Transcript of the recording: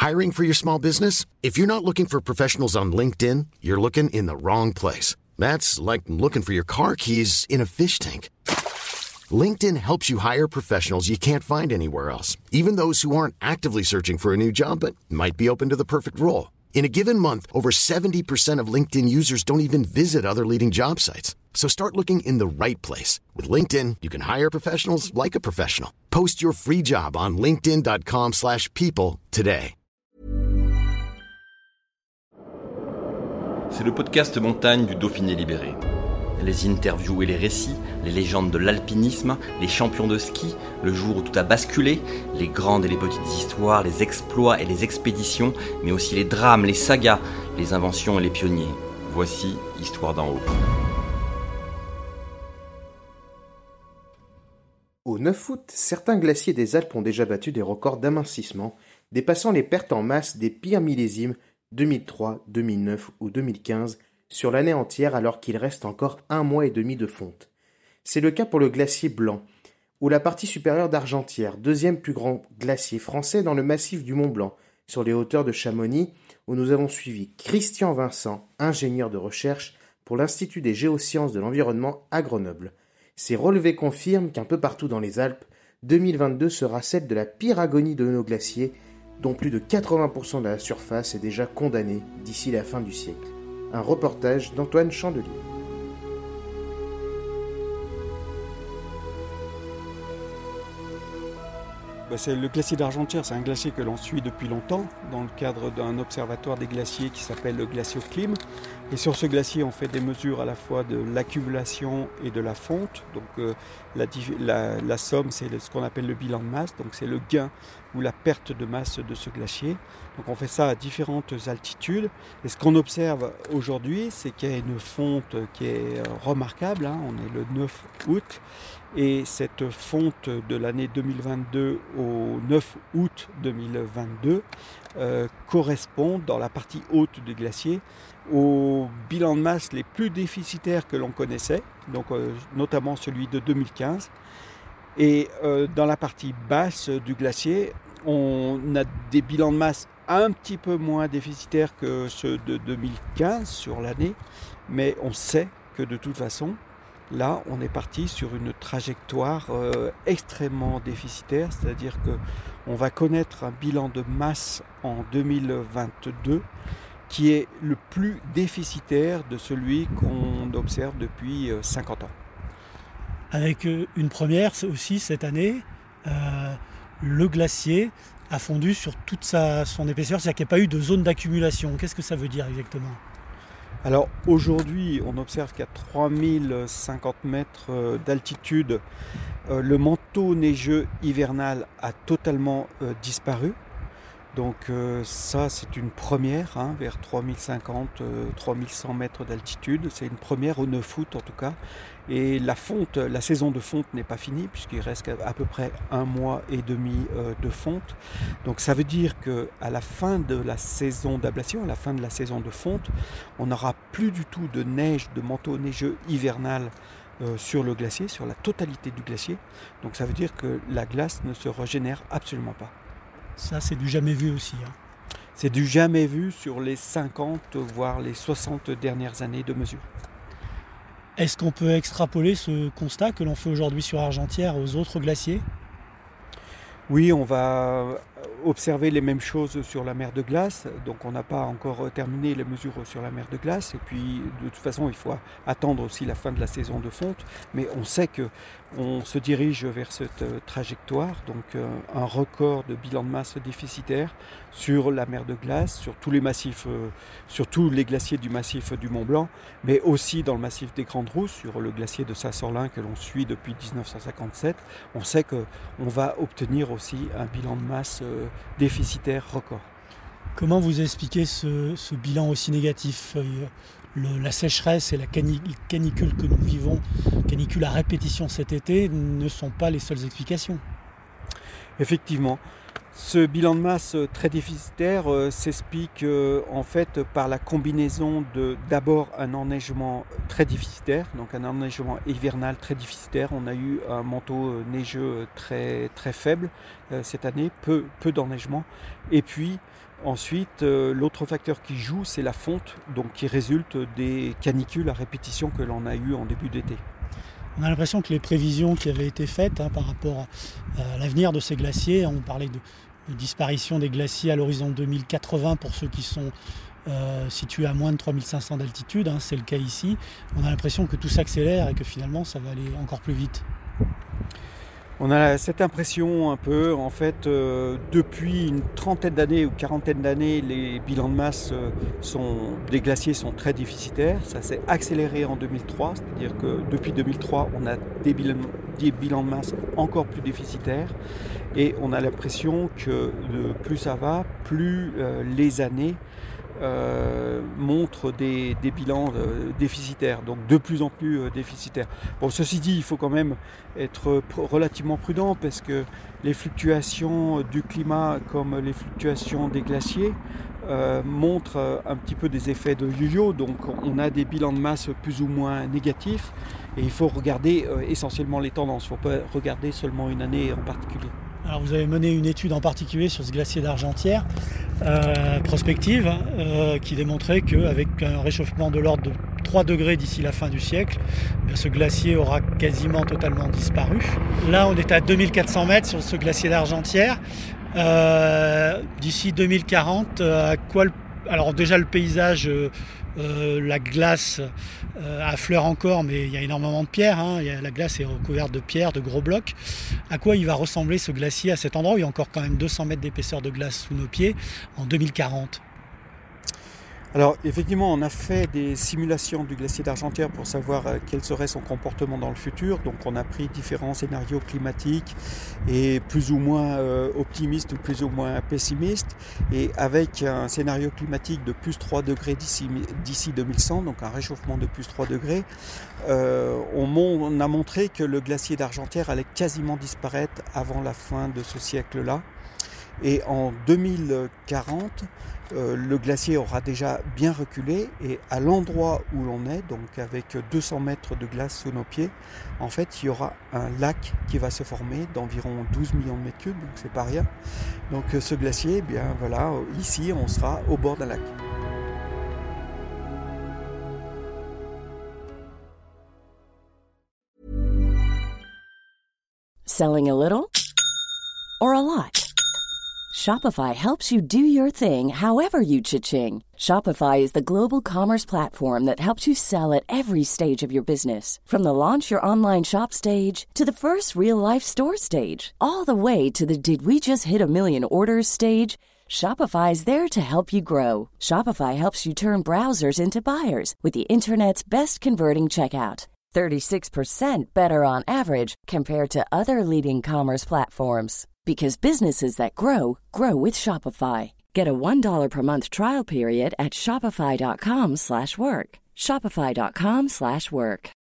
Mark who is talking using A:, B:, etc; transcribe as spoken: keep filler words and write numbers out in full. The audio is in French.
A: Hiring for your small business? If you're not looking for professionals on LinkedIn, you're looking in the wrong place. That's like looking for your car keys in a fish tank. LinkedIn helps you hire professionals you can't find anywhere else, even those who aren't actively searching for a new job but might be open to the perfect role. In a given month, over seventy percent of LinkedIn users don't even visit other leading job sites. So start looking in the right place. With LinkedIn, you can hire professionals like a professional. Post your free job on linkedin.com slash people today.
B: C'est le podcast montagne du Dauphiné Libéré. Les interviews et les récits, les légendes de l'alpinisme, les champions de ski, le jour où tout a basculé, les grandes et les petites histoires, les exploits et les expéditions, mais aussi les drames, les sagas, les inventions et les pionniers. Voici Histoire d'en haut.
C: Au neuf août, certains glaciers des Alpes ont déjà battu des records d'amincissement, dépassant les pertes en masse des pires millésimes deux mille trois, deux mille neuf ou deux mille quinze sur l'année entière alors qu'il reste encore un mois et demi de fonte. C'est le cas pour le glacier Blanc, ou la partie supérieure d'Argentière, deuxième plus grand glacier français dans le massif du Mont Blanc, sur les hauteurs de Chamonix, où nous avons suivi Christian Vincent, ingénieur de recherche pour l'Institut des géosciences de l'environnement à Grenoble. Ces relevés confirment qu'un peu partout dans les Alpes, deux mille vingt-deux sera celle de la pire agonie de nos glaciers, dont plus de quatre-vingts pour cent de la surface est déjà condamnée d'ici la fin du siècle. Un reportage d'Antoine Chandelier.
D: C'est le glacier d'Argentière, c'est un glacier que l'on suit depuis longtemps dans le cadre d'un observatoire des glaciers qui s'appelle le Glacioclim. Et sur ce glacier, on fait des mesures à la fois de l'accumulation et de la fonte. Donc euh, la, la, la somme, c'est ce qu'on appelle le bilan de masse, donc c'est le gain ou la perte de masse de ce glacier. Donc on fait ça à différentes altitudes. Et ce qu'on observe aujourd'hui, c'est qu'il y a une fonte qui est remarquable, hein. On est le neuf août. Et cette fonte de l'année deux mille vingt-deux au neuf août deux mille vingt-deux euh, correspond dans la partie haute du glacier aux bilans de masse les plus déficitaires que l'on connaissait, donc euh, notamment celui de deux mille quinze. Et euh, dans la partie basse du glacier, on a des bilans de masse un petit peu moins déficitaires que ceux de deux mille quinze sur l'année, mais on sait que de toute façon, là, on est parti sur une trajectoire euh, extrêmement déficitaire, c'est-à-dire qu'on va connaître un bilan de masse en deux mille vingt-deux qui est le plus déficitaire de celui qu'on observe depuis euh, cinquante ans.
E: Avec une première aussi cette année, euh, le glacier a fondu sur toute sa, son épaisseur, c'est-à-dire qu'il n'y a pas eu de zone d'accumulation. Qu'est-ce que ça veut dire exactement ?
D: Alors aujourd'hui, on observe qu'à trois mille cinquante mètres d'altitude, euh, le manteau neigeux hivernal a totalement euh, disparu. Donc euh, ça, c'est une première, hein, vers trois mille cinquante, euh, trois mille cent mètres d'altitude. C'est une première au neuf août en tout cas. Et la fonte, la saison de fonte n'est pas finie puisqu'il reste à peu près un mois et demi euh, de fonte. Donc ça veut dire qu'à la fin de la saison d'ablation, à la fin de la saison de fonte, on n'aura plus du tout de neige, de manteau neigeux hivernal euh, sur le glacier, sur la totalité du glacier. Donc ça veut dire que la glace ne se régénère absolument pas.
E: Ça, c'est du jamais vu aussi. Hein.
D: C'est du jamais vu sur les cinquante, voire les soixante dernières années de mesure.
E: Est-ce qu'on peut extrapoler ce constat que l'on fait aujourd'hui sur Argentière aux autres glaciers ?
D: Oui, on va observer les mêmes choses sur la mer de glace. Donc on n'a pas encore terminé les mesures sur la mer de glace. Et puis de toute façon, il faut attendre aussi la fin de la saison de fonte. Mais on sait qu'on se dirige vers cette trajectoire. Donc un record de bilan de masse déficitaire sur la mer de glace, sur tous les massifs, sur tous les glaciers du massif du Mont Blanc, mais aussi dans le massif des Grandes Rousses, sur le glacier de Saint-Sorlin que l'on suit depuis dix-neuf cent cinquante-sept. On sait qu'on va obtenir aussi un bilan de masse déficitaire record.
E: Comment vous expliquez ce, ce bilan aussi négatif ? Le, la sécheresse et la canicule que nous vivons, canicule à répétition cet été, ne sont pas les seules explications.
D: Effectivement. Ce bilan de masse très déficitaire euh, s'explique euh, en fait par la combinaison de d'abord un enneigement très déficitaire, donc un enneigement hivernal très déficitaire. On a eu un manteau neigeux très très faible euh, cette année, peu peu d'enneigement. Et puis ensuite, euh, l'autre facteur qui joue, c'est la fonte, donc qui résulte des canicules à répétition que l'on a eu en début d'été.
E: On a l'impression que les prévisions qui avaient été faites hein, par rapport à l'avenir de ces glaciers, on parlait de, de disparition des glaciers à l'horizon deux mille quatre-vingts pour ceux qui sont euh, situés à moins de trois mille cinq cents d'altitude, hein, c'est le cas ici. On a l'impression que tout s'accélère et que finalement ça va aller encore plus vite.
D: On a cette impression un peu, en fait, euh, depuis une trentaine d'années ou quarantaine d'années, les bilans de masse euh, sont, des glaciers sont très déficitaires. Ça s'est accéléré en deux mille trois, c'est-à-dire que depuis deux mille trois, on a des bilans, des bilans de masse encore plus déficitaires. Et on a l'impression que euh, plus ça va, plus euh, les années Euh, montre des, des bilans euh, déficitaires, donc de plus en plus euh, déficitaires. Bon, ceci dit, il faut quand même être pr- relativement prudent parce que les fluctuations du climat comme les fluctuations des glaciers euh, montrent euh, un petit peu des effets de yo-yo, donc on a des bilans de masse plus ou moins négatifs et il faut regarder euh, essentiellement les tendances, il ne faut pas regarder seulement une année en particulier.
E: Alors vous avez mené une étude en particulier sur ce glacier d'Argentière, euh, prospective, euh, qui démontrait qu'avec un réchauffement de l'ordre de trois degrés d'ici la fin du siècle, eh ce glacier aura quasiment totalement disparu. Là on est à deux mille quatre cents mètres sur ce glacier d'Argentière. Euh, d'ici deux mille quarante, à quoi le... Alors déjà le paysage, euh, euh, la glace euh, affleure encore, mais il y a énormément de pierres, hein. Il y a, la glace est recouverte de pierres, de gros blocs. À quoi il va ressembler ce glacier à cet endroit où il y a encore quand même deux cents mètres d'épaisseur de glace sous nos pieds en deux mille quarante?
D: Alors effectivement, on a fait des simulations du glacier d'Argentière pour savoir euh, quel serait son comportement dans le futur. Donc on a pris différents scénarios climatiques et plus ou moins euh, optimistes ou plus ou moins pessimistes. Et avec un scénario climatique de plus trois degrés d'ici, d'ici deux mille cent, donc un réchauffement de plus trois degrés, euh, on, mon, on a montré que le glacier d'Argentière allait quasiment disparaître avant la fin de ce siècle-là. Et en deux mille quarante, euh, le glacier aura déjà bien reculé et à l'endroit où l'on est, donc avec deux cents mètres de glace sous nos pieds, en fait il y aura un lac qui va se former d'environ douze millions de mètres cubes, donc c'est pas rien. Donc ce glacier, eh bien voilà, ici on sera au bord d'un lac.
F: Selling a little or a lot? Shopify helps you do your thing however you cha-ching. Shopify is the global commerce platform that helps you sell at every stage of your business. From the launch your online shop stage to the first real-life store stage, all the way to the did we just hit a million orders stage. Shopify is there to help you grow. Shopify helps you turn browsers into buyers with the internet's best converting checkout. thirty-six percent better on average compared to other leading commerce platforms. Because businesses that grow, grow with Shopify. Get a one dollar per month trial period at shopify.com slash work. Shopify.com slash work.